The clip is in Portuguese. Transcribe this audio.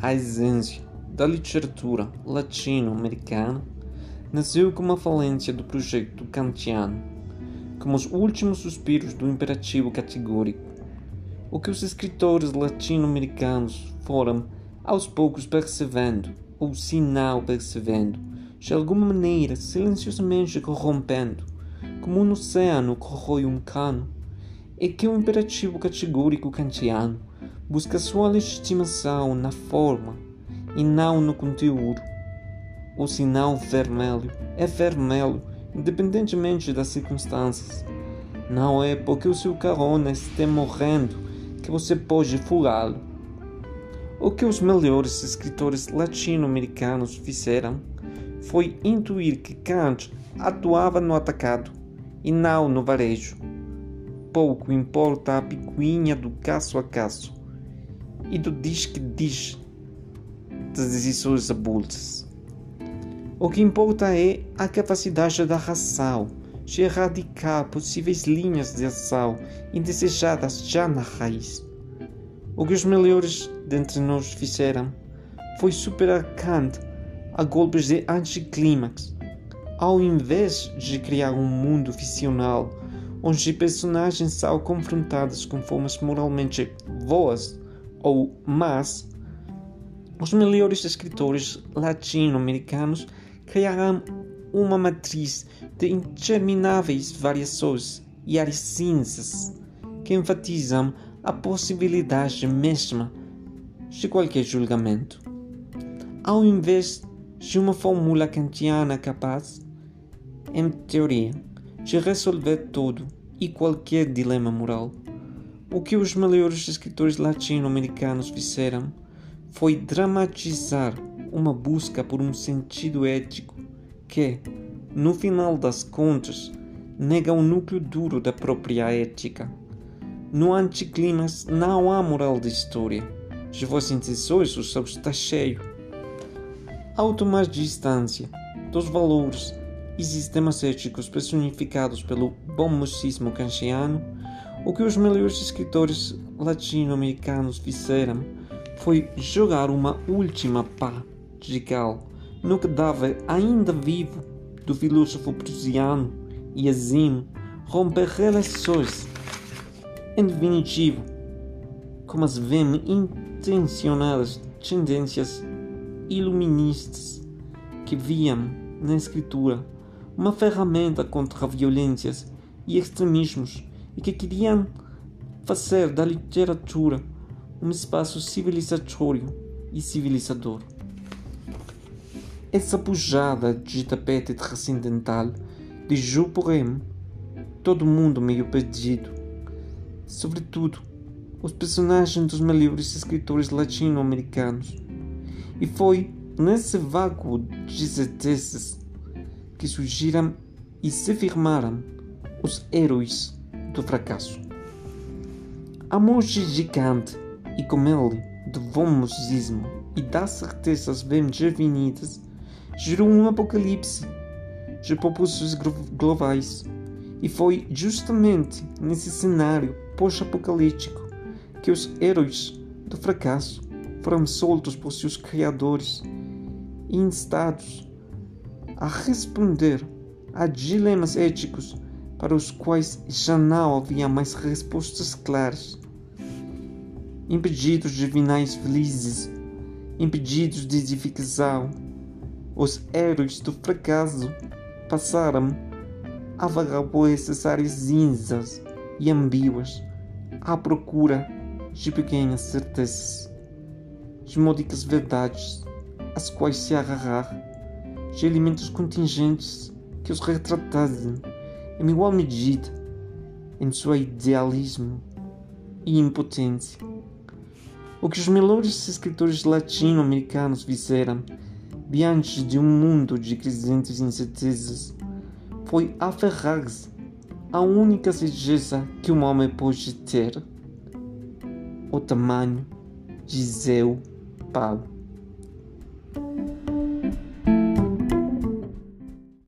a essência da literatura latino-americana nasceu como a falência do projeto kantiano, como os últimos suspiros do imperativo categórico. O que os escritores latino-americanos foram, aos poucos percebendo, ou se não percebendo, de alguma maneira silenciosamente corrompendo, como um oceano corrói um cano, é que o imperativo categórico kantiano busca sua legitimação na forma e não no conteúdo. O sinal vermelho é vermelho independentemente das circunstâncias. Não é porque o seu carona esteja morrendo que você pode furá-lo. O que os melhores escritores latino-americanos fizeram foi intuir que Kant atuava no atacado e não no varejo. Pouco importa a picuinha do caso a caso e do diz que diz das decisões avulsas. O que importa é a capacidade da razão de erradicar possíveis linhas de ação indesejadas já na raiz. O que os melhores dentre nós fizeram foi superar Kant a golpes de anticlímax, ao invés de criar um mundo ficcional onde personagens são confrontados com formas moralmente boas ou más. Os melhores escritores latino-americanos criaram uma matriz de intermináveis variações e áreas cinzas que enfatizam a possibilidade mesma de qualquer julgamento. Ao invés de uma fórmula kantiana capaz, em teoria, de resolver todo e qualquer dilema moral, o que os melhores escritores latino-americanos fizeram foi dramatizar uma busca por um sentido ético que, no final das contas, nega o núcleo duro da própria ética. No anticlímax não há moral de história. De vossas intenções o céu está cheio. Ao tomar distância dos valores e sistemas éticos personificados pelo bom mocismo kantiano, o que os melhores escritores latino-americanos fizeram foi jogar uma última pá de cal no cadáver ainda vivo do filósofo prussiano e assim romper relações. Em definitivo, como as bem intencionadas tendências iluministas que viam na escritura uma ferramenta contra violências e extremismos e que queriam fazer da literatura um espaço civilizatório e civilizador. Essa pujada de tapete transcendental deixou, porém, todo mundo meio perdido, sobretudo os personagens dos melhores escritores latino-americanos, e foi nesse vácuo de certezas que surgiram e se firmaram os heróis do fracasso. A morte de Kant e com ele do bom mocismo e das certezas bem definidas gerou um apocalipse de propósitos globais, e foi justamente nesse cenário pós-apocalíptico que os heróis do fracasso foram soltos por seus criadores e instados a responder a dilemas éticos para os quais já não havia mais respostas claras. Impedidos de finais felizes, impedidos de edificação, os heróis do fracasso passaram a vagar por essas áreas cinzas e ambíguas à procura de pequenas certezas, de módicas verdades às quais se agarrar, de elementos contingentes que os retratassem em igual medida em seu idealismo e impotência. O que os melhores escritores latino-americanos fizeram diante de um mundo de crescentes incertezas foi aferrar-se à única certeza que um homem pode ter: o tamanho de seu pau.